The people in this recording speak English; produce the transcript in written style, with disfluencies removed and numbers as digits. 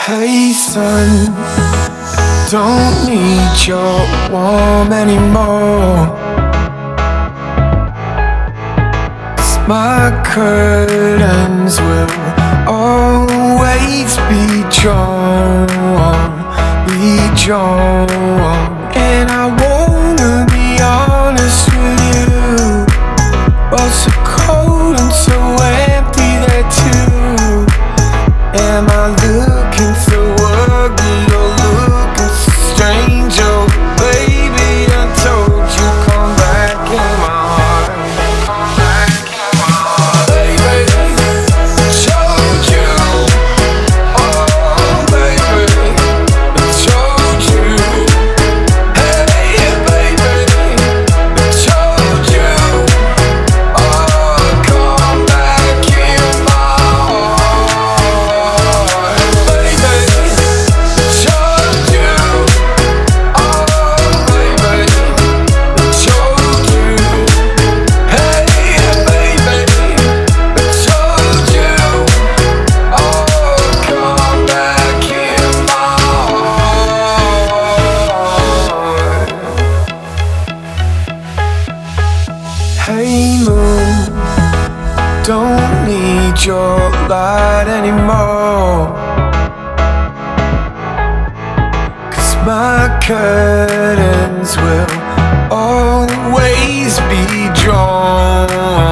Hey son, don't need your warmth anymore. 'Cause my curtains will always be drawn, And I wanna be honest with you, but so cold and so empty there too. Am I looking so ugly or looking so strange? Oh baby, I told you, come back in my heart. Come back in my heart. Baby, I told you. Oh baby, I told you. Hey baby, I told you. Oh, come back in my heart. Hey moon, don't need your light anymore. 'Cause my curtains will always be drawn.